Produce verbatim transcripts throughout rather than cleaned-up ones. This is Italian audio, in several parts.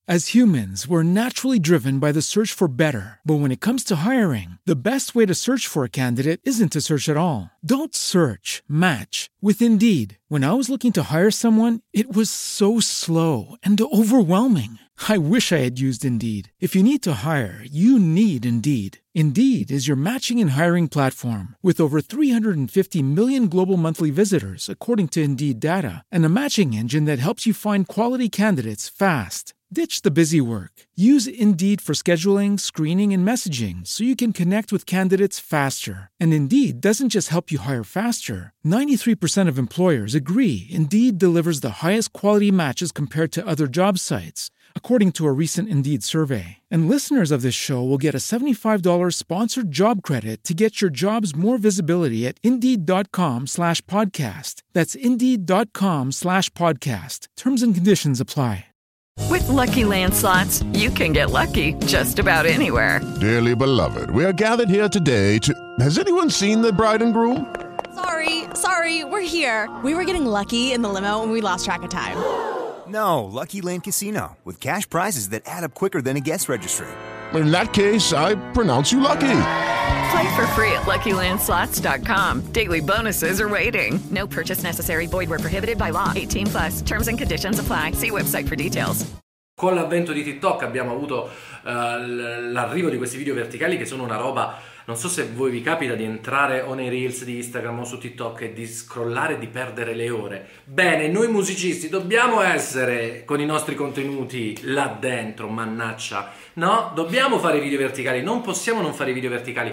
As humans, we're naturally driven by the search for better. But when it comes to hiring, the best way to search for a candidate isn't to search at all. Don't search, match with Indeed. When I was looking to hire someone, it was so slow and overwhelming. I wish I had used Indeed. If you need to hire, you need Indeed. Indeed is your matching and hiring platform with over three hundred fifty million global monthly visitors, according to Indeed data, and a matching engine that helps you find quality candidates fast. Ditch the busy work. Use Indeed for scheduling, screening, and messaging so you can connect with candidates faster. And Indeed doesn't just help you hire faster. ninety-three percent of employers agree Indeed delivers the highest quality matches compared to other job sites, according to a recent Indeed survey. And listeners of this show will get a seventy-five dollars sponsored job credit to get your jobs more visibility at Indeed.com slash podcast. That's Indeed.com slash podcast. Terms and conditions apply. With Lucky Land Slots, you can get lucky just about anywhere. Dearly beloved, we are gathered here today to... Has anyone seen the bride and groom? Sorry, sorry, we're here. We were getting lucky in the limo and we lost track of time. No, Lucky Land Casino, with cash prizes that add up quicker than a guest registry. In that case, I pronounce you lucky. Play for free at Lucky Land Slots dot com. Daily bonuses are waiting. No purchase necessary. Void where prohibited by law. eighteen plus. Terms and conditions apply. See website for details. Con l'avvento di TikTok abbiamo avuto uh, l'arrivo di questi video verticali che sono una roba... Non so se voi vi capita di entrare o nei Reels di Instagram o su TikTok e di scrollare e di perdere le ore. Bene, noi musicisti dobbiamo essere con i nostri contenuti là dentro, mannaccia. No? Dobbiamo fare video verticali, non possiamo non fare video verticali.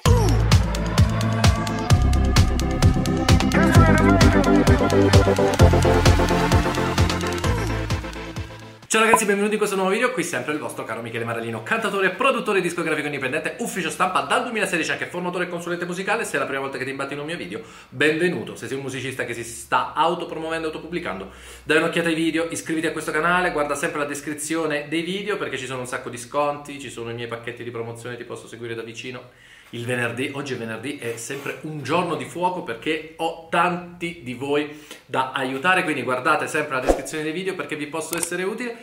Ciao ragazzi, benvenuti in questo nuovo video, qui sempre il vostro caro Michele Marellino, cantatore, produttore discografico indipendente, ufficio stampa dal duemilasedici, anche formatore e consulente musicale. Se è la prima volta che ti imbatti in un mio video, benvenuto. Se sei un musicista che si sta autopromuovendo, autopubblicando, dai un'occhiata ai video, iscriviti a questo canale, guarda sempre la descrizione dei video perché ci sono un sacco di sconti, ci sono i miei pacchetti di promozione, ti posso seguire da vicino. Il venerdì, oggi è venerdì, è sempre un giorno di fuoco perché ho tanti di voi da aiutare, quindi guardate sempre la descrizione dei video perché vi posso essere utile.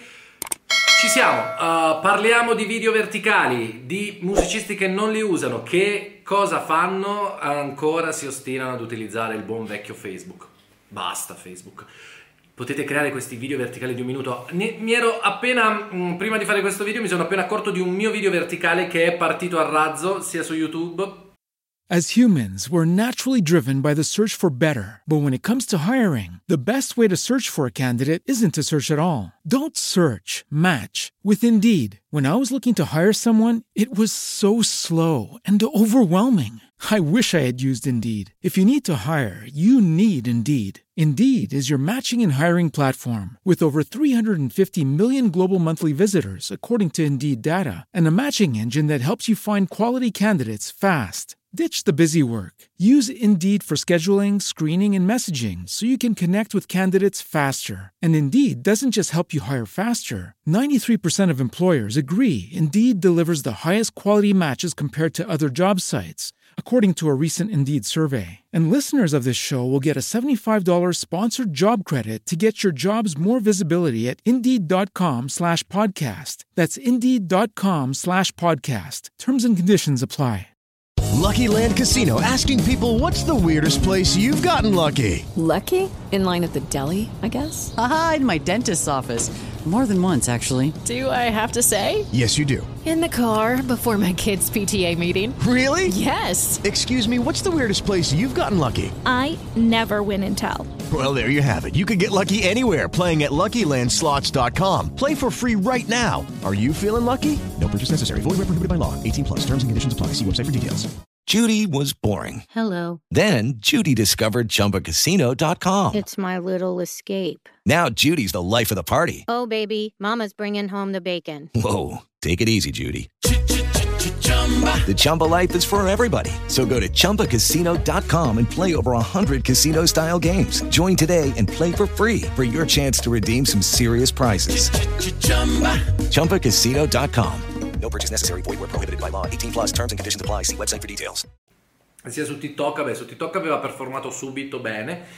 Ci siamo, uh, parliamo di video verticali, di musicisti che non li usano, che cosa fanno? Ancora si ostinano ad utilizzare il buon vecchio Facebook. Basta Facebook. Potete creare questi video verticali di un minuto. Ne, mi ero appena, mh, prima di fare questo video, mi sono appena accorto di un mio video verticale che è partito a razzo, sia su YouTube. As humans, we're naturally driven by the search for better. But when it comes to hiring, the best way to search for a candidate isn't to search at all. Don't search, match with Indeed. When I was looking to hire someone, it was so slow and overwhelming. I wish I had used Indeed. If you need to hire, you need Indeed. Indeed is your matching and hiring platform with over three hundred fifty million global monthly visitors, according to Indeed data, and a matching engine that helps you find quality candidates fast. Ditch the busy work. Use Indeed for scheduling, screening, and messaging so you can connect with candidates faster. And Indeed doesn't just help you hire faster. ninety-three percent of employers agree Indeed delivers the highest quality matches compared to other job sites, according to a recent Indeed survey. And listeners of this show will get a seventy-five dollars sponsored job credit to get your jobs more visibility at Indeed.com slash podcast. That's Indeed.com slash podcast. Terms and conditions apply. Lucky Land Casino, asking people, what's the weirdest place you've gotten lucky? Lucky? In line at the deli, I guess? Aha, in my dentist's office. More than once, actually. Do I have to say? Yes, you do. In the car before my kids' P T A meeting. Really? Yes. Excuse me, what's the weirdest place you've gotten lucky? I never win and tell. Well, there you have it. You can get lucky anywhere, playing at Lucky Land Slots dot com. Play for free right now. Are you feeling lucky? No purchase necessary. Void where prohibited by law. eighteen plus. Terms and conditions apply. See website for details. Judy was boring. Hello. Then Judy discovered Chumba Casino dot com. It's my little escape. Now Judy's the life of the party. Oh, baby, mama's bringing home the bacon. Whoa, take it easy, Judy. The Chumba life is for everybody. So go to Chumba Casino dot com and play over one hundred casino-style games. Join today and play for free for your chance to redeem some serious prizes. Chumba Casino dot com. No purchase necessary. Void where prohibited by law. eighteen plus. Terms and conditions apply. See website for details. Sia su TikTok, vabbè, su TikTok aveva performato subito bene.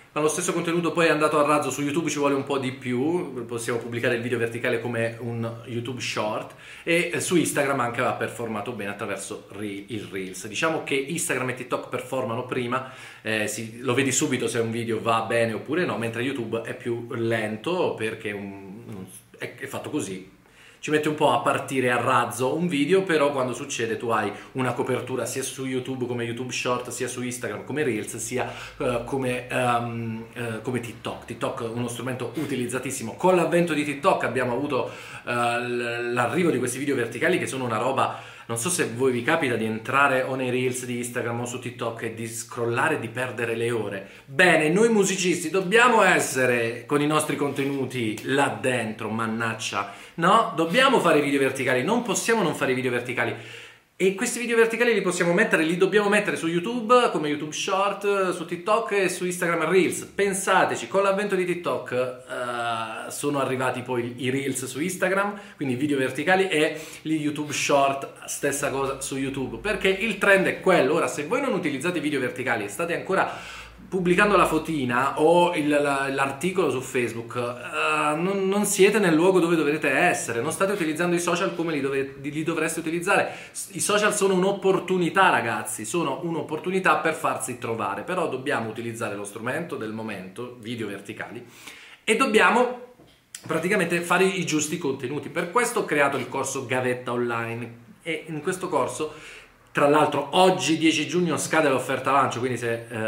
ma lo stesso contenuto poi è andato a razzo su YouTube, ci vuole un po' di più, possiamo pubblicare il video verticale come un YouTube Short, e su Instagram anche va performato bene attraverso il Reels. Diciamo che Instagram e TikTok performano prima, eh, si, lo vedi subito se un video va bene oppure no, mentre YouTube è più lento perché un, è, è fatto così. Ci mette un po' a partire a razzo un video, però quando succede tu hai una copertura sia su YouTube come YouTube Short, sia su Instagram come Reels, sia uh, come, um, uh, come TikTok. TikTok è uno strumento utilizzatissimo. Con l'avvento di TikTok abbiamo avuto uh, l'arrivo di questi video verticali che sono una roba... Non so se voi vi capita di entrare o nei Reels di Instagram o su TikTok e di scrollare e di perdere le ore. Bene, noi musicisti dobbiamo essere con i nostri contenuti là dentro, mannaccia. No, dobbiamo fare video verticali, non possiamo non fare video verticali. E questi video verticali li possiamo mettere, li dobbiamo mettere su YouTube, come YouTube Short, su TikTok e su Instagram Reels. Pensateci, con l'avvento di TikTok uh, sono arrivati poi i Reels su Instagram, quindi video verticali, e gli YouTube Short, stessa cosa su YouTube, perché il trend è quello. Ora, se voi non utilizzate i video verticali e state ancora pubblicando la fotina o il, la, l'articolo su Facebook, uh, non, non siete nel luogo dove dovrete essere, non state utilizzando i social come li, dove, li dovreste utilizzare. I social sono un'opportunità, ragazzi, sono un'opportunità per farsi trovare, però dobbiamo utilizzare lo strumento del momento, video verticali, e dobbiamo praticamente fare i giusti contenuti. Per questo ho creato il corso Gavetta Online, e in questo corso, tra l'altro, oggi dieci giugno scade l'offerta lancio, quindi se eh,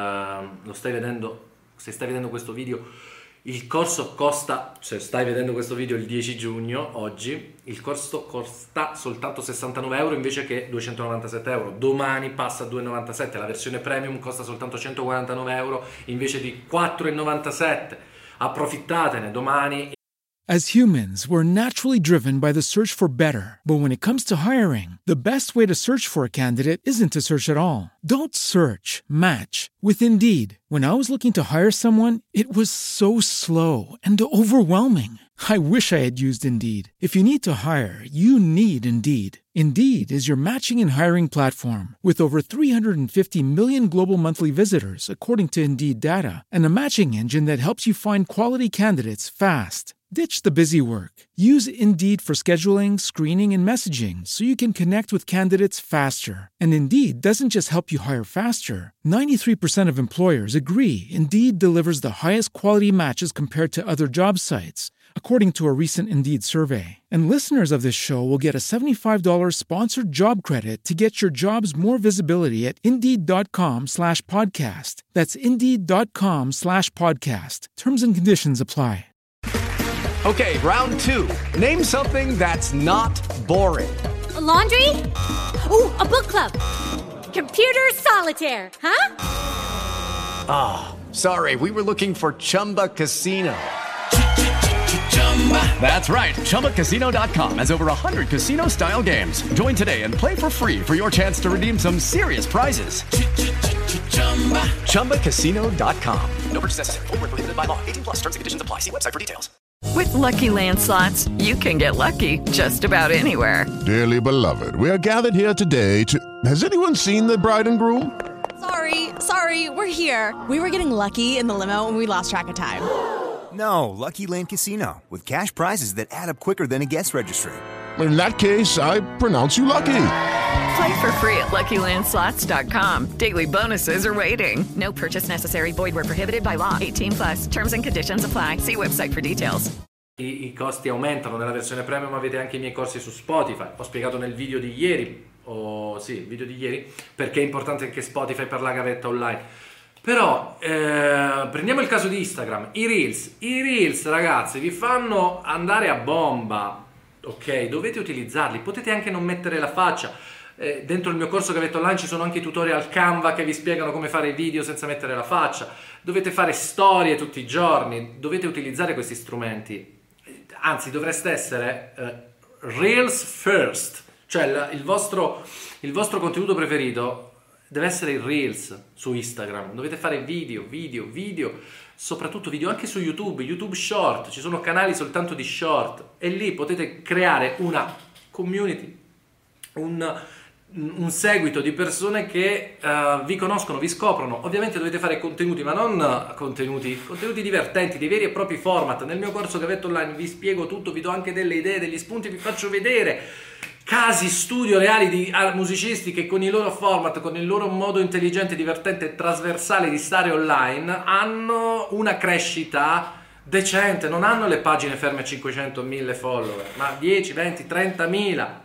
lo stai vedendo, se stai vedendo questo video, il corso costa, se stai vedendo questo video il dieci giugno, oggi, il corso costa soltanto sessantanove euro invece che duecentonovantasette euro. Domani passa a due virgola novantasette, la versione premium costa soltanto centoquarantanove euro invece di quattro virgola novantasette. Approfittatene domani. As humans, we're naturally driven by the search for better. But when it comes to hiring, the best way to search for a candidate isn't to search at all. Don't search, match with Indeed. When I was looking to hire someone, it was so slow and overwhelming. I wish I had used Indeed. If you need to hire, you need Indeed. Indeed is your matching and hiring platform with over three hundred fifty million global monthly visitors, according to Indeed data, and a matching engine that helps you find quality candidates fast. Ditch the busy work. Use Indeed for scheduling, screening, and messaging so you can connect with candidates faster. And Indeed doesn't just help you hire faster. ninety-three percent of employers agree Indeed delivers the highest quality matches compared to other job sites, according to a recent Indeed survey. And listeners of this show will get a seventy-five dollars sponsored job credit to get your jobs more visibility at Indeed.com slash podcast. That's Indeed.com slash podcast. Terms and conditions apply. Okay, round two. Name something that's not boring. A laundry? Ooh, a book club. Computer solitaire, huh? Ah, oh, sorry, we were looking for Chumba Casino. That's right, Chumba Casino dot com has over one hundred casino-style games. Join today and play for free for your chance to redeem some serious prizes. Chumba Casino dot com. No purchase necessary. Void where prohibited by law. eighteen plus terms and conditions apply. See website for details. With Lucky Land Slots, you can get lucky just about anywhere. Dearly beloved, we are gathered here today to... Has anyone seen the bride and groom? Sorry, sorry, we're here. We were getting lucky in the limo and we lost track of time. No, Lucky Land Casino, with cash prizes that add up quicker than a guest registry. In that case, I pronounce you lucky. Play for free at Lucky Land Slots dot com. Daily bonuses are waiting. No purchase necessary. Void where prohibited by law. eighteen plus. Terms and conditions apply. See website for details. I, I costi aumentano nella versione premium, avete anche i miei corsi su Spotify. Ho spiegato nel video di ieri, o sì, il video di ieri, perché è importante anche Spotify per la gavetta online. Però eh, prendiamo il caso di Instagram, i Reels. I Reels, ragazzi, vi fanno andare a bomba. Ok, dovete utilizzarli. Potete anche non mettere la faccia. Eh, dentro il mio corso Gavetta Online ci sono anche i tutorial Canva che vi spiegano come fare i video senza mettere la faccia. Dovete fare storie tutti i giorni. Dovete utilizzare questi strumenti. Anzi, dovreste essere eh, Reels first. Cioè la, il, vostro, il vostro contenuto preferito deve essere il Reels su Instagram. Dovete fare video, video, video, soprattutto video anche su YouTube, YouTube Short. Ci sono canali soltanto di short e lì potete creare una community, un, un seguito di persone che uh, vi conoscono, vi scoprono. Ovviamente dovete fare contenuti, ma non contenuti, contenuti divertenti, dei veri e propri format. Nel mio corso Gavetto Online vi spiego tutto, vi do anche delle idee, degli spunti, vi faccio vedere casi studio reali di musicisti che con i loro format, con il loro modo intelligente, divertente e trasversale di stare online hanno una crescita decente, non hanno le pagine ferme a cinquecento mila follower, ma dieci, venti, trentamila.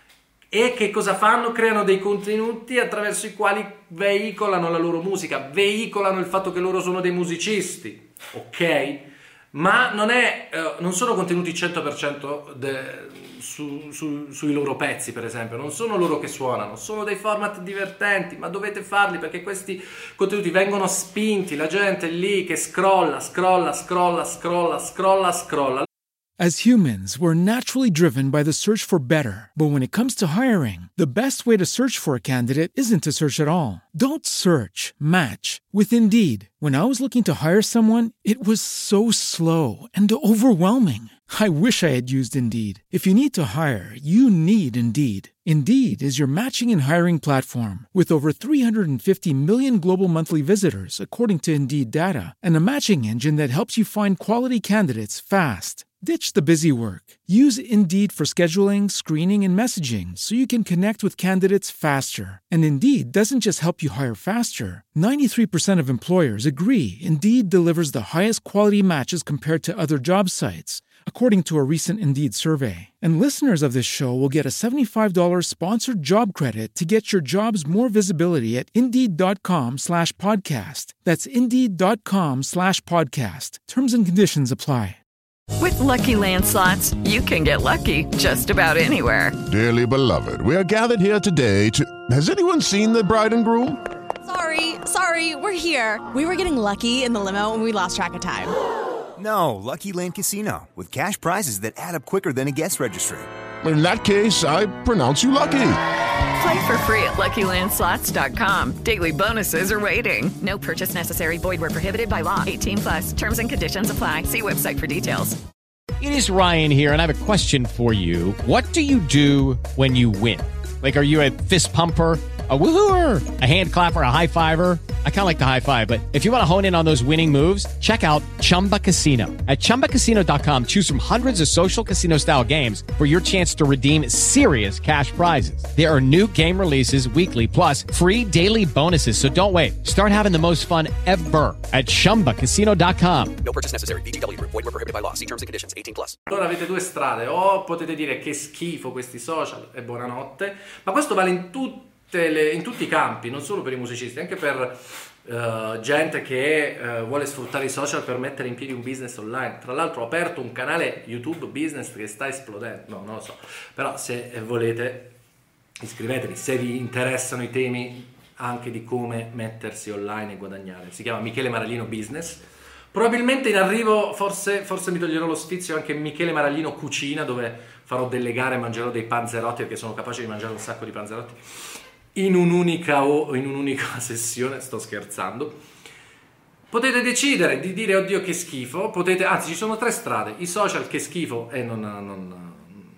E che cosa fanno? Creano dei contenuti attraverso i quali veicolano la loro musica, veicolano il fatto che loro sono dei musicisti, ok? Ma non è, eh, non sono contenuti cento per cento de, su, su, sui loro pezzi, per esempio, non sono loro che suonano, sono dei format divertenti, ma dovete farli perché questi contenuti vengono spinti, la gente è lì che scrolla, scrolla, scrolla, scrolla, scrolla, scrolla. As humans, we're naturally driven by the search for better. But when it comes to hiring, the best way to search for a candidate isn't to search at all. Don't search, match with Indeed. When I was looking to hire someone, it was so slow and overwhelming. I wish I had used Indeed. If you need to hire, you need Indeed. Indeed is your matching and hiring platform with over three hundred fifty million global monthly visitors, according to Indeed data, and a matching engine that helps you find quality candidates fast. Ditch the busy work. Use Indeed for scheduling, screening, and messaging so you can connect with candidates faster. And Indeed doesn't just help you hire faster. ninety-three percent of employers agree Indeed delivers the highest quality matches compared to other job sites, according to a recent Indeed survey. And listeners of this show will get a seventy-five dollars sponsored job credit to get your jobs more visibility at Indeed.com slash podcast. That's Indeed.com slash podcast. Terms and conditions apply. With Lucky Land Slots, you can get lucky just about anywhere. Dearly beloved, we are gathered here today to... Has anyone seen the bride and groom? Sorry, sorry, we're here. We were getting lucky in the limo and we lost track of time. No, Lucky Land Casino, with cash prizes that add up quicker than a guest registry. In that case, I pronounce you lucky. Play for free at Lucky Land Slots dot com. Daily bonuses are waiting. No purchase necessary. Void where prohibited by law. eighteen plus. Terms and conditions apply. See website for details. It is Ryan here, and I have a question for you. What do you do when you win? Like, are you a fist pumper, a woohooer, a hand clapper, a high fiver? I kind of like the high five, but if you want to hone in on those winning moves, check out Chumba Casino. At Chumba Casino dot com, choose from hundreds of social casino style games for your chance to redeem serious cash prizes. There are new game releases weekly, plus free daily bonuses. So don't wait. Start having the most fun ever at Chumba Casino dot com. No purchase necessary. V G W Group. Void where prohibited by law. See terms and conditions. eighteen plus. Allora avete due strade. O potete dire che schifo questi social e buonanotte, ma questo vale in tutti Le, in tutti i campi, non solo per i musicisti, anche per uh, gente che uh, vuole sfruttare i social per mettere in piedi un business online. Tra l'altro ho aperto un canale YouTube business che sta esplodendo, no, non lo so, però se volete iscrivetevi, se vi interessano i temi anche di come mettersi online e guadagnare. Si chiama Michele Maraglino Business. Probabilmente in arrivo, forse, forse mi toglierò lo sfizio anche Michele Maraglino Cucina, dove farò delle gare e mangerò dei panzerotti, perché sono capace di mangiare un sacco di panzerotti in un'unica o in un'unica sessione. Sto scherzando. Potete decidere di dire oddio che schifo, potete, anzi ci sono tre strade: i social che schifo e non, non,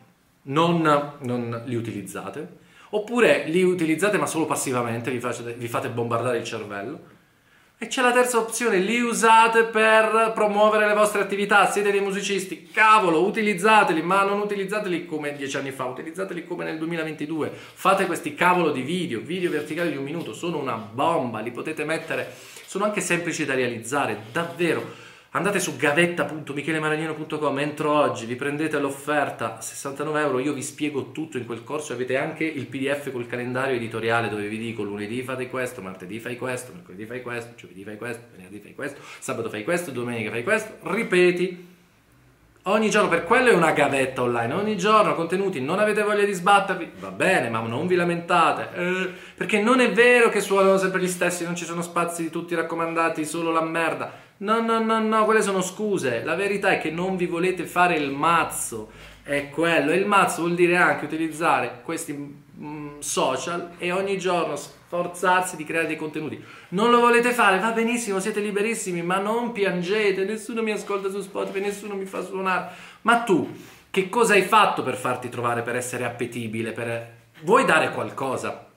non, non li utilizzate, oppure li utilizzate ma solo passivamente, vi fate, vi fate bombardare il cervello, e c'è la terza opzione: li usate per promuovere le vostre attività, siete dei musicisti, cavolo, utilizzateli, ma non utilizzateli come dieci anni fa, utilizzateli come nel duemilaventidue, fate questi cavolo di video, video verticali di un minuto, sono una bomba, li potete mettere, sono anche semplici da realizzare, davvero. Andate su gavetta punto michele maraglino punto com, entro oggi, vi prendete l'offerta, sessantanove euro, io vi spiego tutto in quel corso, avete anche il P D F col calendario editoriale dove vi dico lunedì fate questo, martedì fai questo, mercoledì fai questo, giovedì fai questo, venerdì fai questo, sabato fai questo, domenica fai questo, ripeti ogni giorno, per quello è una gavetta online, ogni giorno contenuti, non avete voglia di sbattervi, va bene, ma non vi lamentate, eh, perché non è vero che suonano sempre gli stessi, non ci sono spazi di tutti raccomandati, solo la merda. No, no, no, no, quelle sono scuse. La verità è che non vi volete fare il mazzo, è quello. E il mazzo vuol dire anche utilizzare questi mm, social e ogni giorno sforzarsi di creare dei contenuti. Non lo volete fare? Va benissimo, siete liberissimi, ma non piangete. Nessuno mi ascolta su Spotify, nessuno mi fa suonare. Ma tu, che cosa hai fatto per farti trovare, per essere appetibile? Per... Vuoi dare qualcosa?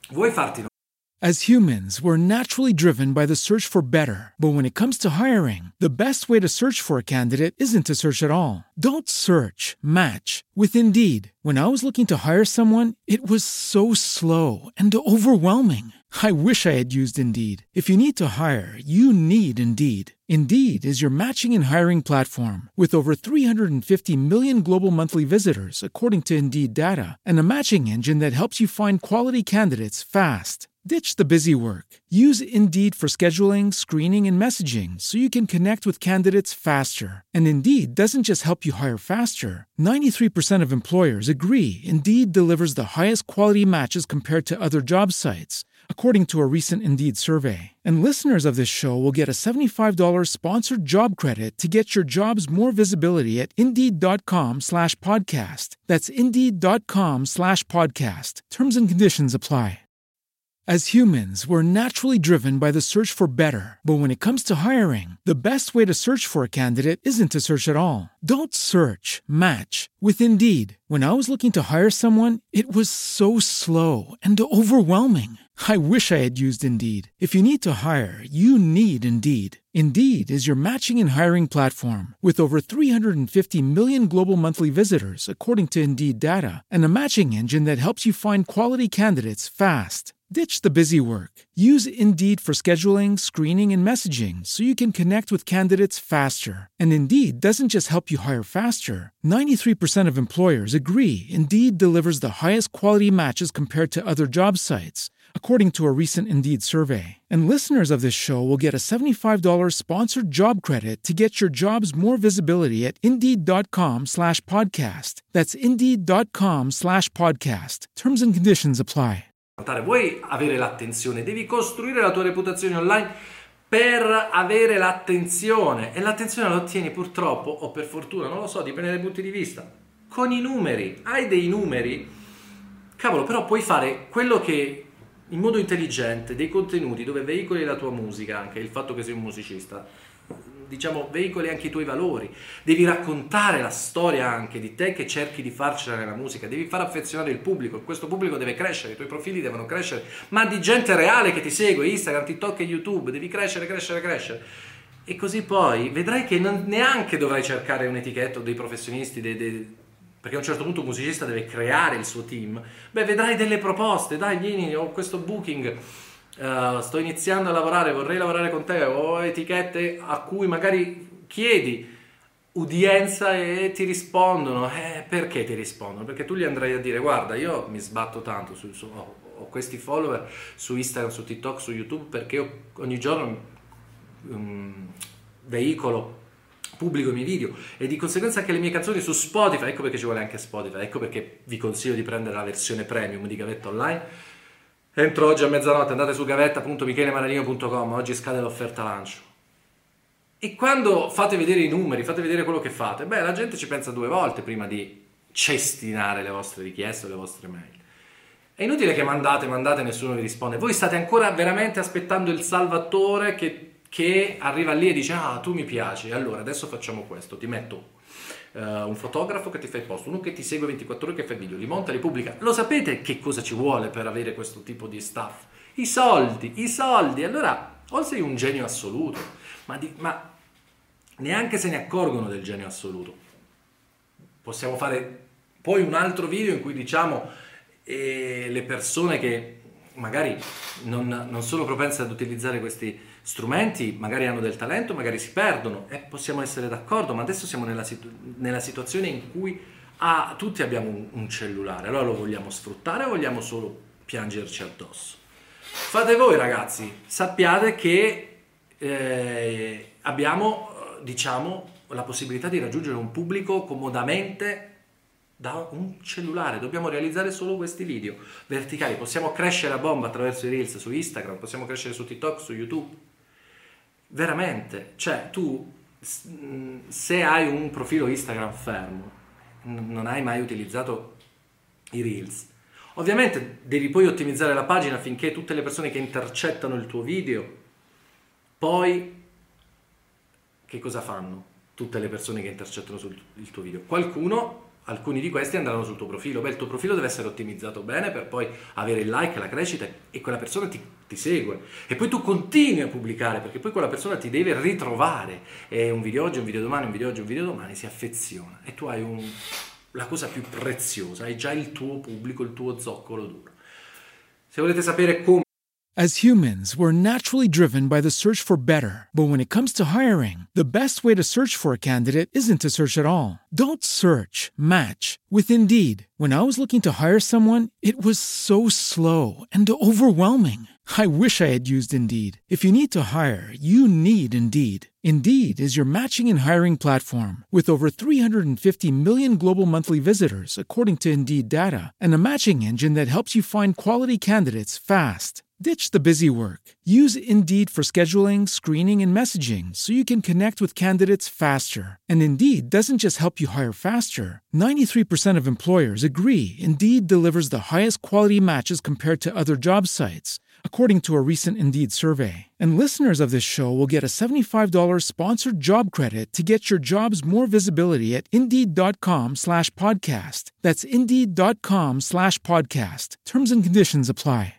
vuoi farti As humans, we're naturally driven by the search for better. But when it comes to hiring, the best way to search for a candidate isn't to search at all. Don't search, match with Indeed. When I was looking to hire someone, it was so slow and overwhelming. I wish I had used Indeed. If you need to hire, you need Indeed. Indeed is your matching and hiring platform with over three hundred fifty million global monthly visitors, according to Indeed data, and a matching engine that helps you find quality candidates fast. Ditch the busy work. Use Indeed for scheduling, screening, and messaging so you can connect with candidates faster. And Indeed doesn't just help you hire faster. ninety-three percent of employers agree Indeed delivers the highest quality matches compared to other job sites, according to a recent Indeed survey. And listeners of this show will get a seventy-five dollars sponsored job credit to get your jobs more visibility at Indeed.com slash podcast. That's Indeed.com slash podcast. Terms and conditions apply. As humans, we're naturally driven by the search for better. But when it comes to hiring, the best way to search for a candidate isn't to search at all. Don't search, match with Indeed. When I was looking to hire someone, it was so slow and overwhelming. I wish I had used Indeed. If you need to hire, you need Indeed. Indeed is your matching and hiring platform with over three hundred fifty million global monthly visitors, according to Indeed data, and a matching engine that helps you find quality candidates fast. Ditch the busy work. Use Indeed for scheduling, screening, and messaging so you can connect with candidates faster. And Indeed doesn't just help you hire faster. ninety-three percent of employers agree Indeed delivers the highest quality matches compared to other job sites, according to a recent Indeed survey. And listeners of this show will get a seventy-five dollars sponsored job credit to get your jobs more visibility at Indeed.com slash podcast. That's Indeed.com slash podcast. Terms and conditions apply. Vuoi avere l'attenzione, devi costruire la tua reputazione online per avere l'attenzione, e l'attenzione la ottieni purtroppo o per fortuna, non lo so, dipende dai punti di vista, con i numeri. Hai dei numeri, cavolo, però puoi fare quello che in modo intelligente, dei contenuti dove veicoli la tua musica, anche il fatto che sei un musicista, diciamo, veicoli anche i tuoi valori, devi raccontare la storia anche di te che cerchi di farcela nella musica, devi far affezionare il pubblico, questo pubblico deve crescere, i tuoi profili devono crescere, ma di gente reale che ti segue, Instagram, TikTok e YouTube, devi crescere, crescere, crescere, e così poi vedrai che non neanche dovrai cercare un'etichetta dei professionisti, dei, dei, perché a un certo punto un musicista deve creare il suo team, beh, vedrai delle proposte, dai, vieni, ho questo booking, Uh, sto iniziando a lavorare, vorrei lavorare con te, o etichette a cui magari chiedi udienza e ti rispondono. Eh, perché ti rispondono? Perché tu gli andrai a dire: guarda, io mi sbatto tanto su, su, ho, ho questi follower su Instagram, su TikTok, su YouTube, perché io ogni giorno um, veicolo, pubblico i miei video, e di conseguenza anche le mie canzoni su Spotify. Ecco perché ci vuole anche Spotify, ecco perché vi consiglio di prendere la versione premium di Gavetta Online. Entro oggi a mezzanotte, andate su gavetta punto michele maralino punto com, oggi scade l'offerta lancio. E quando fate vedere i numeri, fate vedere quello che fate, beh, la gente ci pensa due volte prima di cestinare le vostre richieste o le vostre mail. È inutile che mandate, mandate e nessuno vi risponde. Voi state ancora veramente aspettando il salvatore che, che arriva lì e dice: ah, tu mi piaci, allora adesso facciamo questo, ti metto Uh, un fotografo che ti fa il post, uno che ti segue ventiquattro ore, che fa i video, li monta, li pubblica. Lo sapete che cosa ci vuole per avere questo tipo di stuff? I soldi, i soldi. Allora, o sei un genio assoluto, ma, di, ma neanche se ne accorgono del genio assoluto. Possiamo fare poi un altro video in cui diciamo eh, le persone che magari non, non sono propense ad utilizzare questi strumenti, magari hanno del talento, magari si perdono, e possiamo essere d'accordo, ma adesso siamo nella, situ- nella situazione in cui ah, tutti abbiamo un, un cellulare. Allora lo vogliamo sfruttare o vogliamo solo piangerci addosso? Fate voi, ragazzi. Sappiate che eh, abbiamo, diciamo, la possibilità di raggiungere un pubblico comodamente da un cellulare. Dobbiamo realizzare solo questi video verticali. Possiamo crescere a bomba attraverso i reels su Instagram, possiamo crescere su TikTok, su YouTube. Veramente, cioè tu se hai un profilo Instagram fermo, non hai mai utilizzato i reels, ovviamente devi poi ottimizzare la pagina affinché tutte le persone che intercettano il tuo video, poi che cosa fanno tutte le persone che intercettano sul il tuo video? Qualcuno alcuni di questi andranno sul tuo profilo. Beh, il tuo profilo deve essere ottimizzato bene per poi avere il like, la crescita e quella persona ti, ti segue. E poi tu continui a pubblicare perché poi quella persona ti deve ritrovare. E un video oggi, un video domani, un video oggi, un video domani, si affeziona. E tu hai un, la cosa più preziosa, hai già il tuo pubblico, il tuo zoccolo duro. Se volete sapere come... As humans, we're naturally driven by the search for better. But when it comes to hiring, the best way to search for a candidate isn't to search at all. Don't search, match with Indeed. When I was looking to hire someone, it was so slow and overwhelming. I wish I had used Indeed. If you need to hire, you need Indeed. Indeed is your matching and hiring platform with over three hundred fifty million global monthly visitors, according to Indeed data, and a matching engine that helps you find quality candidates fast. Ditch the busy work. Use Indeed for scheduling, screening, and messaging so you can connect with candidates faster. And Indeed doesn't just help you hire faster. ninety-three percent of employers agree Indeed delivers the highest quality matches compared to other job sites, according to a recent Indeed survey. And listeners of this show will get a seventy-five dollars sponsored job credit to get your jobs more visibility at Indeed.com slash podcast. That's Indeed.com slash podcast. Terms and conditions apply.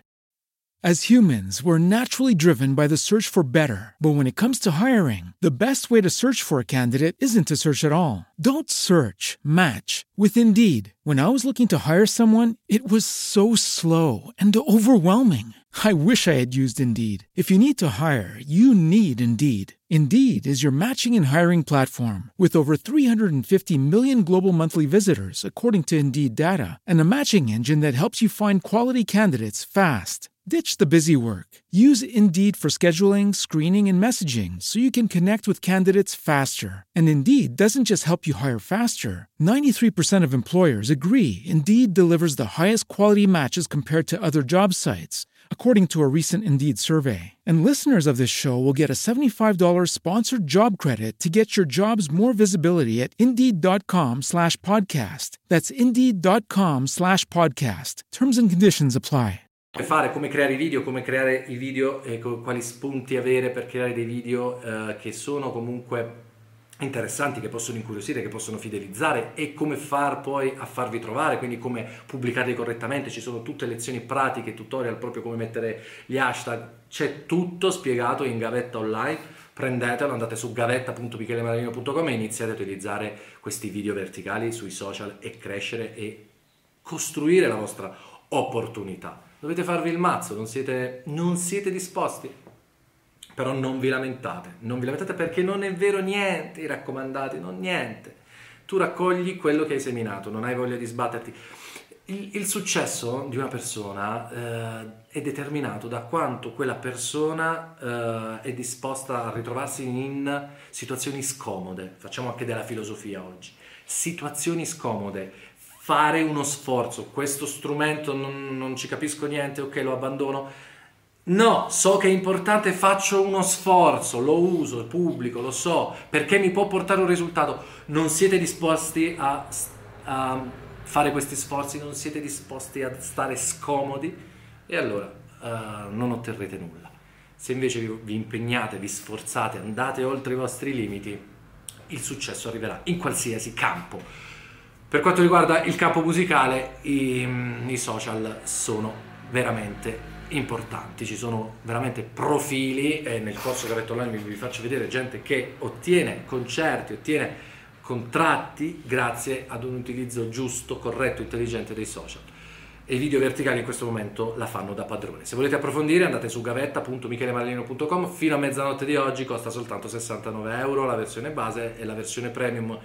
As humans, we're naturally driven by the search for better. But when it comes to hiring, the best way to search for a candidate isn't to search at all. Don't search, match with Indeed. When I was looking to hire someone, it was so slow and overwhelming. I wish I had used Indeed. If you need to hire, you need Indeed. Indeed is your matching and hiring platform with over three hundred fifty million global monthly visitors, according to Indeed data, and a matching engine that helps you find quality candidates fast. Ditch the busy work. Use Indeed for scheduling, screening, and messaging so you can connect with candidates faster. And Indeed doesn't just help you hire faster. ninety-three percent of employers agree Indeed delivers the highest quality matches compared to other job sites, according to a recent Indeed survey. And listeners of this show will get a seventy-five dollars sponsored job credit to get your jobs more visibility at Indeed.com slash podcast. That's Indeed.com slash podcast. Terms and conditions apply. Fare, come creare i video, come creare i video e co- quali spunti avere per creare dei video eh, che sono comunque interessanti, che possono incuriosire, che possono fidelizzare, e come far poi a farvi trovare, quindi come pubblicarli correttamente. Ci sono tutte lezioni pratiche, tutorial, proprio come mettere gli hashtag, c'è tutto spiegato in Gavetta Online. Prendetelo, andate su gavetta punto michele maralino punto com e iniziate a utilizzare questi video verticali sui social e crescere e costruire la vostra opportunità. Dovete farvi il mazzo, non siete, non siete disposti, però non vi lamentate, non vi lamentate perché non è vero niente, i raccomandati, non niente. Tu raccogli quello che hai seminato, non hai voglia di sbatterti. Il, il successo di una persona eh, è determinato da quanto quella persona eh, è disposta a ritrovarsi in situazioni scomode. Facciamo anche della filosofia oggi. Situazioni scomode. Fare uno sforzo, questo strumento non, non ci capisco niente, ok, lo abbandono. No, so che è importante, faccio uno sforzo, lo uso, pubblico, lo so, perché mi può portare un risultato. Non siete disposti a, a fare questi sforzi, non siete disposti a stare scomodi, e allora uh, non otterrete nulla. Se invece vi, vi impegnate, vi sforzate, andate oltre i vostri limiti, il successo arriverà in qualsiasi campo. Per quanto riguarda il campo musicale, i, i social sono veramente importanti, ci sono veramente profili, e nel corso Gavetta Online vi, vi faccio vedere gente che ottiene concerti, ottiene contratti grazie ad un utilizzo giusto, corretto, intelligente dei social. E i video verticali in questo momento la fanno da padrone. Se volete approfondire andate su gavetta punto michele maralino punto com. Fino a mezzanotte di oggi costa soltanto sessantanove euro la versione base, e la versione premium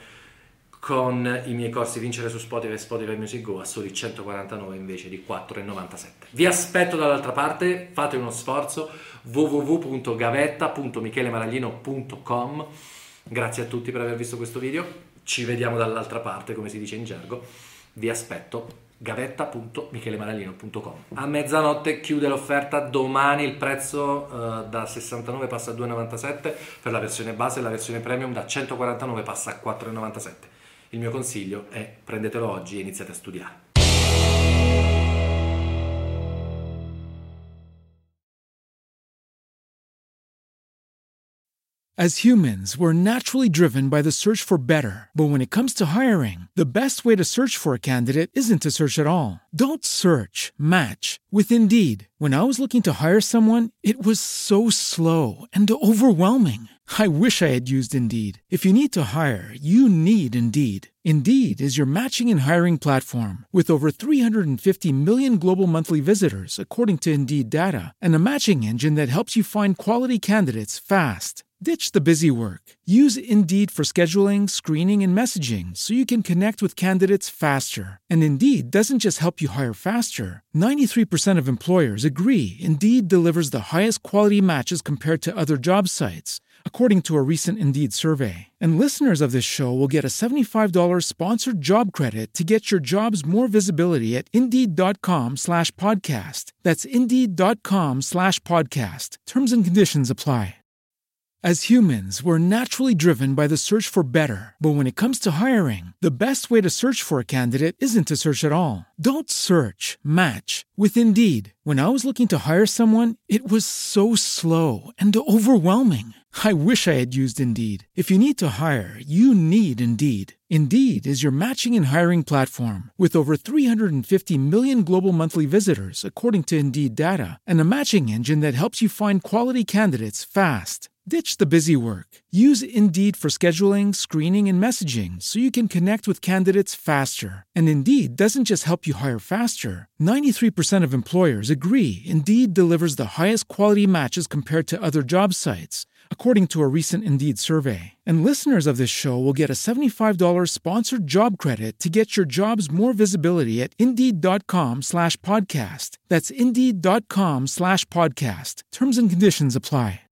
con i miei corsi Vincere su Spotify e Spotify Music Go a soli centoquarantanove invece di quattro e novantasette. Vi aspetto dall'altra parte, fate uno sforzo, w w w punto gavetta punto michele maralino punto com. Grazie a tutti per aver visto questo video, ci vediamo dall'altra parte, come si dice in gergo. Vi aspetto, gavetta punto michele maralino punto com. A mezzanotte chiude l'offerta, domani il prezzo uh, da sessantanove passa a due e novantasette per la versione base, e la versione premium da centoquarantanove passa a quattro e novantasette. Il mio consiglio è prendetelo oggi e iniziate a studiare. As humans, we're naturally driven by the search for better. But when it comes to hiring, the best way to search for a candidate isn't to search at all. Don't search, match with Indeed. When I was looking to hire someone, it was so slow and overwhelming. I wish I had used Indeed. If you need to hire, you need Indeed. Indeed is your matching and hiring platform with over three hundred fifty million global monthly visitors, according to Indeed data, and a matching engine that helps you find quality candidates fast. Ditch the busy work. Use Indeed for scheduling, screening, and messaging so you can connect with candidates faster. And Indeed doesn't just help you hire faster. ninety-three percent of employers agree Indeed delivers the highest quality matches compared to other job sites, according to a recent Indeed survey. And listeners of this show will get a seventy-five dollars sponsored job credit to get your jobs more visibility at Indeed.com slash podcast. That's Indeed.com slash podcast. Terms and conditions apply. As humans, we're naturally driven by the search for better. But when it comes to hiring, the best way to search for a candidate isn't to search at all. Don't search, match with Indeed. When I was looking to hire someone, it was so slow and overwhelming. I wish I had used Indeed. If you need to hire, you need Indeed. Indeed is your matching and hiring platform with over three hundred fifty million global monthly visitors, according to Indeed data, and a matching engine that helps you find quality candidates fast. Ditch the busy work. Use Indeed for scheduling, screening, and messaging so you can connect with candidates faster. And Indeed doesn't just help you hire faster. ninety-three percent of employers agree Indeed delivers the highest quality matches compared to other job sites, according to a recent Indeed survey. And listeners of this show will get a seventy-five dollars sponsored job credit to get your jobs more visibility at Indeed.com slash podcast. That's Indeed.com slash podcast. Terms and conditions apply.